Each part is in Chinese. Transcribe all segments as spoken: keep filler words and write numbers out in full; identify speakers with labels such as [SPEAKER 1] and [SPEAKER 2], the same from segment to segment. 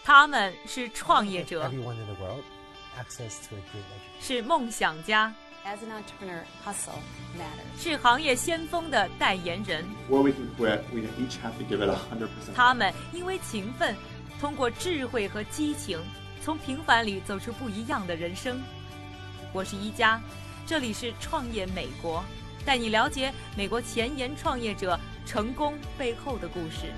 [SPEAKER 1] 他们是创业者，是梦想家，是行业先锋的代言人。他们因为勤奋，通过智慧和激情，从平凡里走出不一样的人生。我是一加，这里是创业美国，带你了解美国前沿创业者成功背后的故事。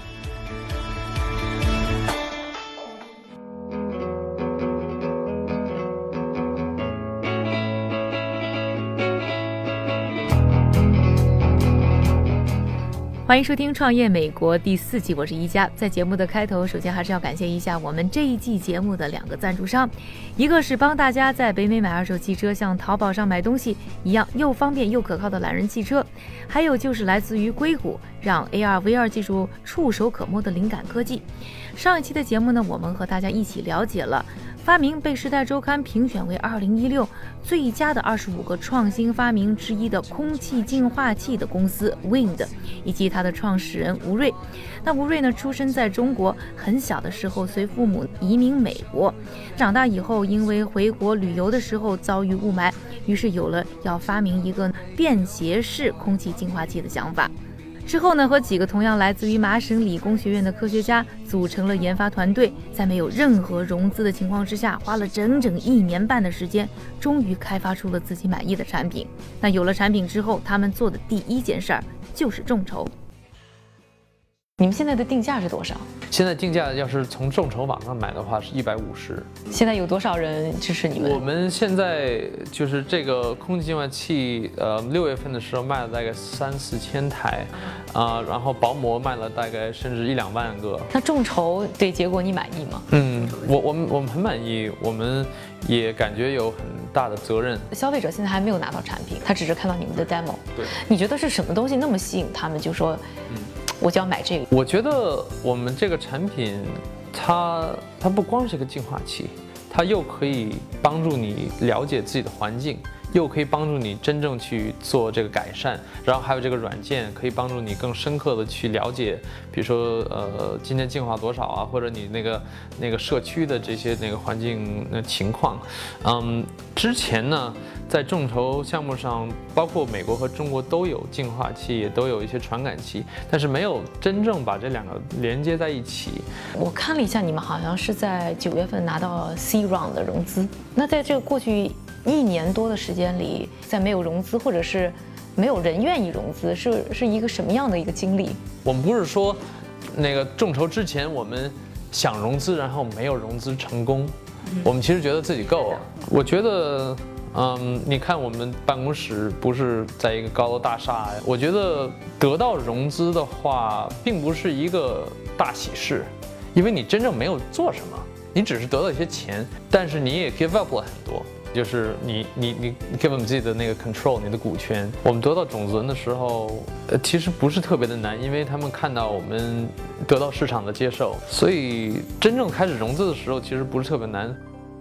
[SPEAKER 1] 欢迎收听《创业美国》第四季，我是一加。在节目的开头，首先还是要感谢一下我们这一季节目的两个赞助商，一个是帮大家在北美买二手汽车像淘宝上买东西一样又方便又可靠的懒人汽车，还有就是来自于硅谷让 A R V R 技术触手可摸的灵感科技。上一期的节目呢，我们和大家一起了解了发明被时代周刊评选为二零一六最佳的二十五个创新发明之一的空气净化器的公司 Wind， 以及它的创始人吴瑞。那吴瑞呢，出生在中国，很小的时候随父母移民美国，长大以后因为回国旅游的时候遭遇雾霾，于是有了要发明一个便携式空气净化器的想法。之后呢，和几个同样来自于麻省理工学院的科学家组成了研发团队，在没有任何融资的情况之下，花了整整一年半的时间，终于开发出了自己满意的产品。那有了产品之后，他们做的第一件事儿就是众筹。你们现在的定价是多少？
[SPEAKER 2] 现在定价要是从众筹网上买的话是一百五十。
[SPEAKER 1] 现在有多少人支持你们？
[SPEAKER 2] 我们现在就是这个空气净化器，呃，六月份的时候卖了大概三四千台，啊、呃，然后薄膜卖了大概甚至一两万个。
[SPEAKER 1] 那众筹对结果你满意吗？
[SPEAKER 2] 嗯，我我们我们很满意，我们也感觉有很大的责任。
[SPEAKER 1] 消费者现在还没有拿到产品，他只是看到你们的 demo。
[SPEAKER 2] 对，
[SPEAKER 1] 你觉得是什么东西那么吸引他们，就说，嗯，我就要买这个？
[SPEAKER 2] 我觉得我们这个产品，它它不光是一个净化器，它又可以帮助你了解自己的环境，又可以帮助你真正去做这个改善，然后还有这个软件可以帮助你更深刻的去了解，比如说呃今天净化多少啊，或者你那个那个社区的这些那个环境的情况。嗯，之前呢，在众筹项目上，包括美国和中国都有净化器，也都有一些传感器，但是没有真正把这两个连接在一起。
[SPEAKER 1] 我看了一下，你们好像是在九月份拿到 C round 的融资。那在这个过去一年多的时间里，在没有融资或者是没有人愿意融资，是是一个什么样的一个经历？
[SPEAKER 2] 我们不是说那个众筹之前我们想融资，然后没有融资成功，我们其实觉得自己够了。我觉得嗯，你看我们办公室不是在一个高楼大厦，我觉得得到融资的话并不是一个大喜事，因为你真正没有做什么，你只是得到一些钱，但是你也 give up 了很多，就是你你你 give up 自己的那个 control 你的股权。我们得到种子轮的时候，呃，其实不是特别的难，因为他们看到我们得到市场的接受，所以真正开始融资的时候其实不是特别难。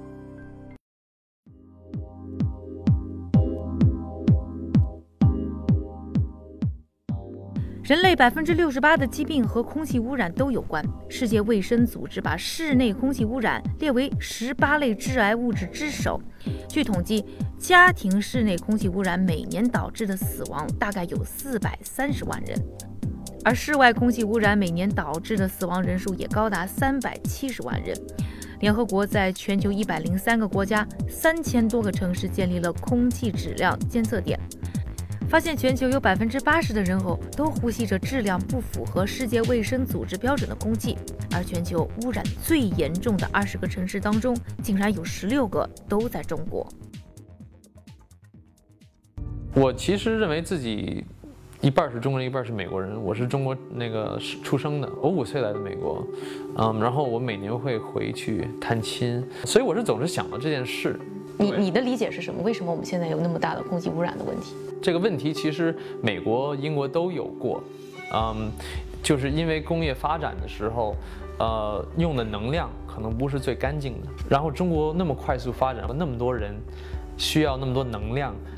[SPEAKER 1] 人类百分之六十八的疾病和空气污染都有关。世界卫生组织把室内空气污染列为十八类致癌物质之首。据统计，家庭室内空气污染每年导致的死亡大概有四百三十万人，而室外空气污染每年导致的死亡人数也高达三百七十万人。联合国在全球一百零三个国家、三千多个城市建立了空气质量监测点。发现全球有百分之八十的人口都呼吸着质量不符合世界卫生组织标准的空气，而全球污染最严重的二十个城市当中，竟然有十六个都在中国。
[SPEAKER 2] 我其实认为自己一半是中国人，一半是美国人。我是中国那个出生的，我五岁来的美国，嗯，然后我每年会回去探亲，所以我是总是想到这件事。
[SPEAKER 1] 你你的理解是什么？为什么我们现在有那么大的空气污染的问题？
[SPEAKER 2] 这个问题其实美国、英国都有过，嗯，就是因为工业发展的时候，呃，用的能量可能不是最干净的。然后中国那么快速发展，那么多人需要那么多能量，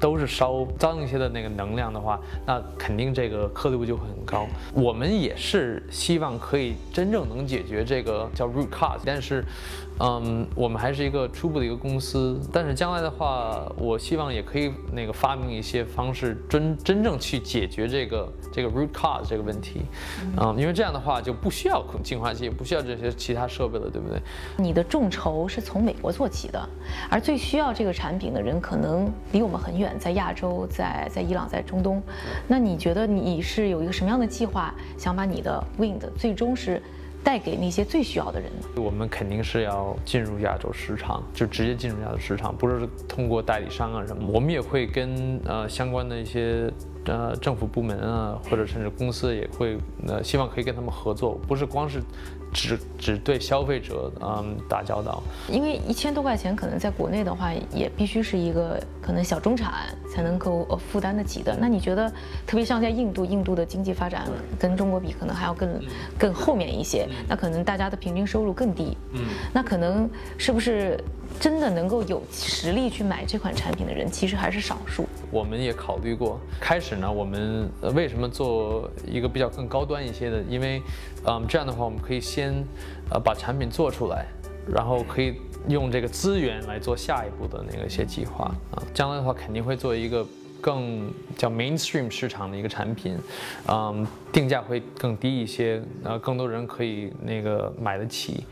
[SPEAKER 2] 都是烧脏一些的那个能量的话，那肯定这个颗粒度就会很高。我们也是希望可以真正能解决这个叫 root cause， 但是，嗯，我们还是一个初步的一个公司。但是将来的话，我希望也可以那个发明一些方式，真真正去解决这个这个 root cause 这个问题。嗯，因为这样的话就不需要净化器，不需要这些其他设备了，对不对？
[SPEAKER 1] 你的众筹是从美国做起的，而最需要这个产品的人可能离我们很远，在亚洲，在在伊朗，在中东。那你觉得你是有一个什么样的计划，想把你的 Wind 最终是带给那些最需要的人呢？
[SPEAKER 2] 我们肯定是要进入亚洲市场，就直接进入亚洲市场，不是通过代理商啊什么。我们也会跟呃相关的一些呃政府部门啊，或者甚至公司也会呃希望可以跟他们合作，不是光是只只对消费者嗯打交道。
[SPEAKER 1] 因为一千多块钱可能在国内的话，也必须是一个可能小中产才能够呃负担得起的。那你觉得，特别像在印度，印度的经济发展跟中国比，可能还要更更后面一些。那可能大家的平均收入更低。嗯，那可能是不是真的能够有实力去买这款产品的人，其实还是少数。
[SPEAKER 2] 我们也考虑过，开始呢，我们为什么做一个比较更高端一些的？因为，嗯，这样的话我们可以先，呃，把产品做出来，然后可以用这个资源来做下一步的那个一些计划啊。将来的话肯定会做一个更叫 mainstream 市场的一个产品，嗯，定价会更低一些，呃，更多人可以那个买得起。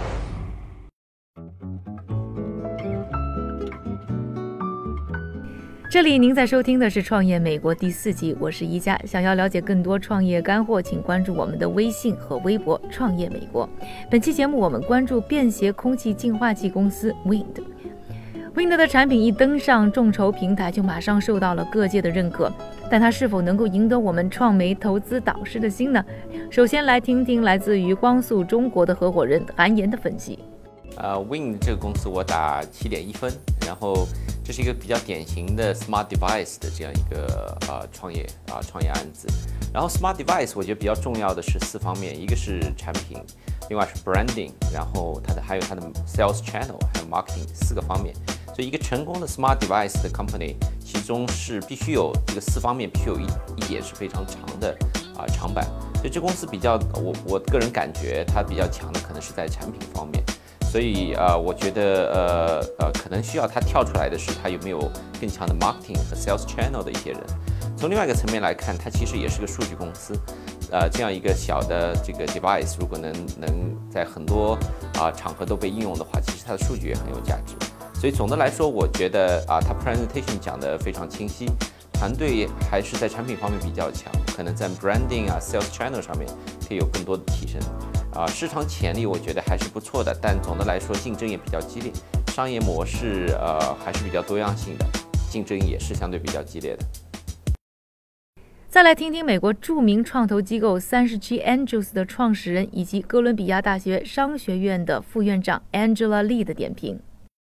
[SPEAKER 1] 这里您在收听的是《创业美国》第四季，我是一佳。想要了解更多创业干货，请关注我们的微信和微博“创业美国”。本期节目我们关注便携空气净化器公司 Wind。Wind 的产品一登上众筹平台，就马上受到了各界的认可，但它是否能够赢得我们创媒投资导师的心呢？首先来听听来自于光速中国的合伙人韩岩的分析。
[SPEAKER 3] 呃 ，Wind 这个公司我打七点一分，然后这是一个比较典型的 smart device 的这样一个呃创业啊、呃、创业案子。然后 smart device 我觉得比较重要的是四方面，一个是产品，另外是 branding， 然后它的还有它的 sales channel， 还有 marketing 四个方面。所以一个成功的 smart device 的 company， 其中是必须有这个四方面，必须有一一点是非常长的啊、呃、长板。所以这公司比较，我我个人感觉它比较强的可能是在产品方面。所以呃，我觉得呃呃，可能需要它跳出来的是，它有没有更强的 marketing 和 sales channel 的一些人。从另外一个层面来看，它其实也是个数据公司。呃，这样一个小的这个 device， 如果能能在很多啊、呃、场合都被应用的话，其实它的数据也很有价值。所以总的来说，我觉得啊，它 presentation 讲得非常清晰，团队还是在产品方面比较强，可能在 branding 啊 sales channel 上面可以有更多的提升。啊，市场潜力我觉得还是不错的，但总的来说竞争也比较激烈，商业模式呃还是比较多样性的，竞争也是相对比较激烈的。
[SPEAKER 1] 再来听听美国著名创投机构三十 G Angels 的创始人以及哥伦比亚大学商学院的副院长 Angela Lee 的点评。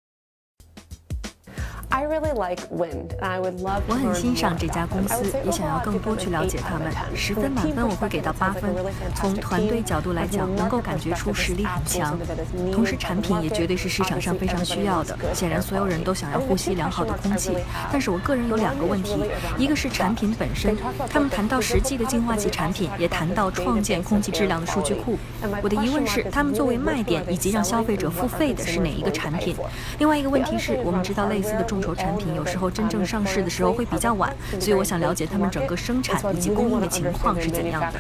[SPEAKER 4] I really like Wind, and I would love to
[SPEAKER 5] 我很欣赏
[SPEAKER 4] learn
[SPEAKER 5] 这
[SPEAKER 4] more
[SPEAKER 5] 家
[SPEAKER 4] about
[SPEAKER 5] 公
[SPEAKER 4] them. I
[SPEAKER 5] 司
[SPEAKER 4] would say
[SPEAKER 5] 也想要
[SPEAKER 4] overall,
[SPEAKER 5] 更
[SPEAKER 4] I'd
[SPEAKER 5] 多
[SPEAKER 4] give
[SPEAKER 5] 去
[SPEAKER 4] them
[SPEAKER 5] 了
[SPEAKER 4] an
[SPEAKER 5] 解
[SPEAKER 4] eight
[SPEAKER 5] 他
[SPEAKER 4] out
[SPEAKER 5] 们
[SPEAKER 4] of ten.
[SPEAKER 5] 十
[SPEAKER 4] From
[SPEAKER 5] 分
[SPEAKER 4] a
[SPEAKER 5] 满
[SPEAKER 4] team
[SPEAKER 5] 分我会给
[SPEAKER 4] perspective,
[SPEAKER 5] 到
[SPEAKER 4] it's
[SPEAKER 5] 八
[SPEAKER 4] like a
[SPEAKER 5] 分
[SPEAKER 4] really
[SPEAKER 5] 从
[SPEAKER 4] fantastic
[SPEAKER 5] 团队
[SPEAKER 4] team.
[SPEAKER 5] 角度来
[SPEAKER 4] And
[SPEAKER 5] 讲
[SPEAKER 4] from a
[SPEAKER 5] 能够
[SPEAKER 4] market
[SPEAKER 5] 感觉出
[SPEAKER 4] perspective,
[SPEAKER 5] 实
[SPEAKER 4] it's
[SPEAKER 5] 力
[SPEAKER 4] an
[SPEAKER 5] 很
[SPEAKER 4] app
[SPEAKER 5] 强
[SPEAKER 4] solution that is
[SPEAKER 5] 同
[SPEAKER 4] needed
[SPEAKER 5] 时
[SPEAKER 4] by
[SPEAKER 5] 产
[SPEAKER 4] the
[SPEAKER 5] 品也
[SPEAKER 4] market.
[SPEAKER 5] 绝对是市场上
[SPEAKER 4] Obviously,
[SPEAKER 5] 非常需
[SPEAKER 4] everybody
[SPEAKER 5] 要
[SPEAKER 4] needs
[SPEAKER 5] 的
[SPEAKER 4] good
[SPEAKER 5] 显然
[SPEAKER 4] air
[SPEAKER 5] 所有人
[SPEAKER 4] quality.
[SPEAKER 5] 都想要
[SPEAKER 4] I mean,
[SPEAKER 5] 呼
[SPEAKER 4] the
[SPEAKER 5] 吸
[SPEAKER 4] two
[SPEAKER 5] 良好的
[SPEAKER 4] question
[SPEAKER 5] 空
[SPEAKER 4] marks
[SPEAKER 5] 气
[SPEAKER 4] I really have
[SPEAKER 5] 但是我个人有两个问题
[SPEAKER 4] One is really around
[SPEAKER 5] 一个是产品本身
[SPEAKER 4] They talk about
[SPEAKER 5] 他们
[SPEAKER 4] the
[SPEAKER 5] 谈到
[SPEAKER 4] physical
[SPEAKER 5] 实际的净化器
[SPEAKER 4] product,
[SPEAKER 5] 产品
[SPEAKER 4] but they also
[SPEAKER 5] 也
[SPEAKER 4] talk
[SPEAKER 5] 谈
[SPEAKER 4] about
[SPEAKER 5] 到
[SPEAKER 4] the
[SPEAKER 5] 创建
[SPEAKER 4] database
[SPEAKER 5] 空气
[SPEAKER 4] of
[SPEAKER 5] 质
[SPEAKER 4] air
[SPEAKER 5] 量的数据
[SPEAKER 4] quality.
[SPEAKER 5] 库
[SPEAKER 4] And my
[SPEAKER 5] 我的疑
[SPEAKER 4] question
[SPEAKER 5] 问是
[SPEAKER 4] mark is
[SPEAKER 5] 他们作为
[SPEAKER 4] really
[SPEAKER 5] 卖
[SPEAKER 4] which
[SPEAKER 5] 点
[SPEAKER 4] one are
[SPEAKER 5] 以
[SPEAKER 4] they
[SPEAKER 5] 及让消费
[SPEAKER 4] selling
[SPEAKER 5] 者
[SPEAKER 4] and
[SPEAKER 5] 付
[SPEAKER 4] what are
[SPEAKER 5] 费的是哪
[SPEAKER 4] consumers
[SPEAKER 5] 一个
[SPEAKER 4] willing to
[SPEAKER 5] 产
[SPEAKER 4] pay
[SPEAKER 5] 品
[SPEAKER 4] for?
[SPEAKER 5] 另外一个问题
[SPEAKER 4] The
[SPEAKER 5] 是
[SPEAKER 4] other thing
[SPEAKER 5] 我们
[SPEAKER 4] around
[SPEAKER 5] 知道类似的众筹产品有时候真正上市的时候会比较晚所以我想了解他们整个生产以及供应的情况是怎样的。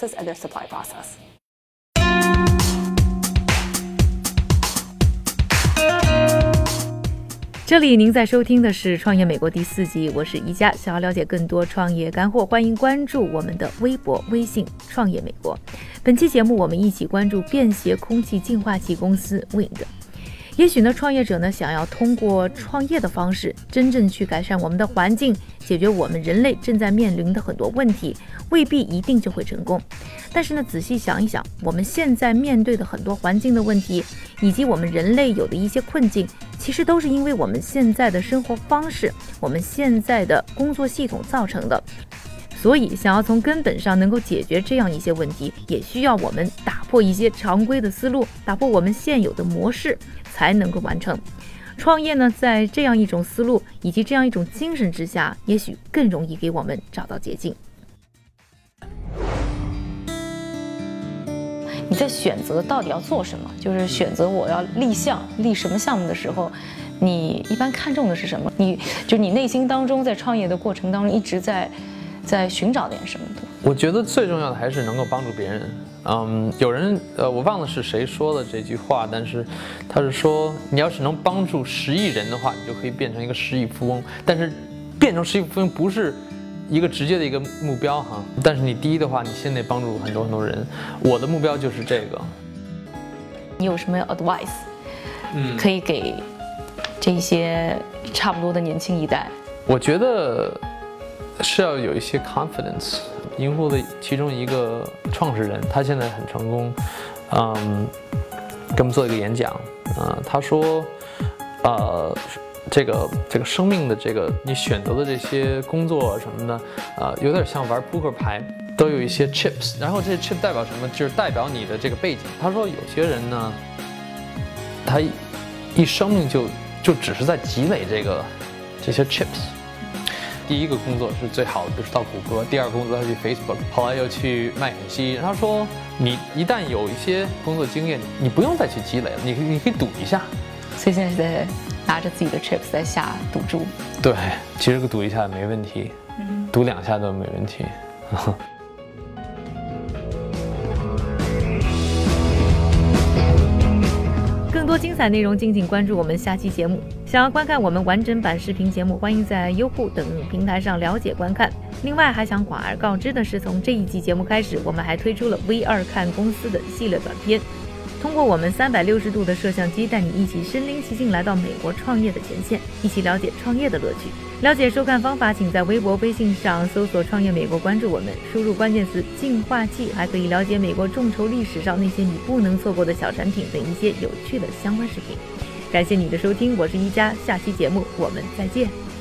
[SPEAKER 1] 这里您在收听的是《创业美国》第四季，我是宜佳。想要了解更多创业干货，欢迎关注我们的微博、微信“创业美国”。本期节目，我们一起关注便携空气净化器公司 Wind。也许呢，创业者呢想要通过创业的方式，真正去改善我们的环境，解决我们人类正在面临的很多问题，未必一定就会成功。但是呢，仔细想一想，我们现在面对的很多环境的问题，以及我们人类有的一些困境，其实都是因为我们现在的生活方式，我们现在的工作系统造成的。所以想要从根本上能够解决这样一些问题，也需要我们打破一些常规的思路，打破我们现有的模式，才能够完成。 创业呢，在这样一种思路以及这样一种精神之下，也许更容易给我们找到捷径。
[SPEAKER 6] 你在选择到底要做什么，就是选择我要立项立什么项目的时候，你一般看重的是什么？你就你内心当中在创业的过程当中一直在在寻找点什么的？
[SPEAKER 2] 我觉得最重要的还是能够帮助别人。嗯，有人呃，我忘了是谁说的这句话，但是他是说，你要是能帮助十亿人的话，你就可以变成一个十亿富翁。但是变成十亿富翁不是一个直接的一个目标哈，但是你第一的话，你先得帮助很多很多人。我的目标就是这个。
[SPEAKER 6] 你有什么 advice，
[SPEAKER 2] 嗯，
[SPEAKER 6] 可以给这些差不多的年轻一代？
[SPEAKER 2] 我觉得是要有一些 confidence。银护的其中一个创始人，他现在很成功，嗯，给我们做一个演讲，啊、呃，他说，呃。这个这个生命的这个你选择的这些工作什么的，呃，有点像玩扑克牌，都有一些 chips， 然后这些 chip 代表什么？就是代表你的这个背景。他说有些人呢，他一生命就就只是在积累这个这些 chips。第一个工作是最好的，比如说到谷歌；第二个工作他去 Facebook， 后来又去麦肯锡。他说你一旦有一些工作经验，你不用再去积累了，你你可以赌一下。
[SPEAKER 6] 所以现在是在拿着自己的 chips 在下赌注。
[SPEAKER 2] 对，其实赌一下没问题，嗯、赌两下都没问题。
[SPEAKER 1] 更多精彩内容，敬请关注我们下期节目。想要观看我们完整版视频节目，欢迎在优酷等平台上了解观看。另外，还想广而告之的是，从这一季节目开始，我们还推出了 V 二看公司的系列短片。通过我们三百六十度的摄像机，带你一起身临其境来到美国创业的前线，一起了解创业的乐趣。了解收看方法，请在微博、微信上搜索“创业美国”，关注我们，输入关键词“净化器”，还可以了解美国众筹历史上那些你不能错过的小产品等一些有趣的相关视频。感谢你的收听，我是一加，下期节目我们再见。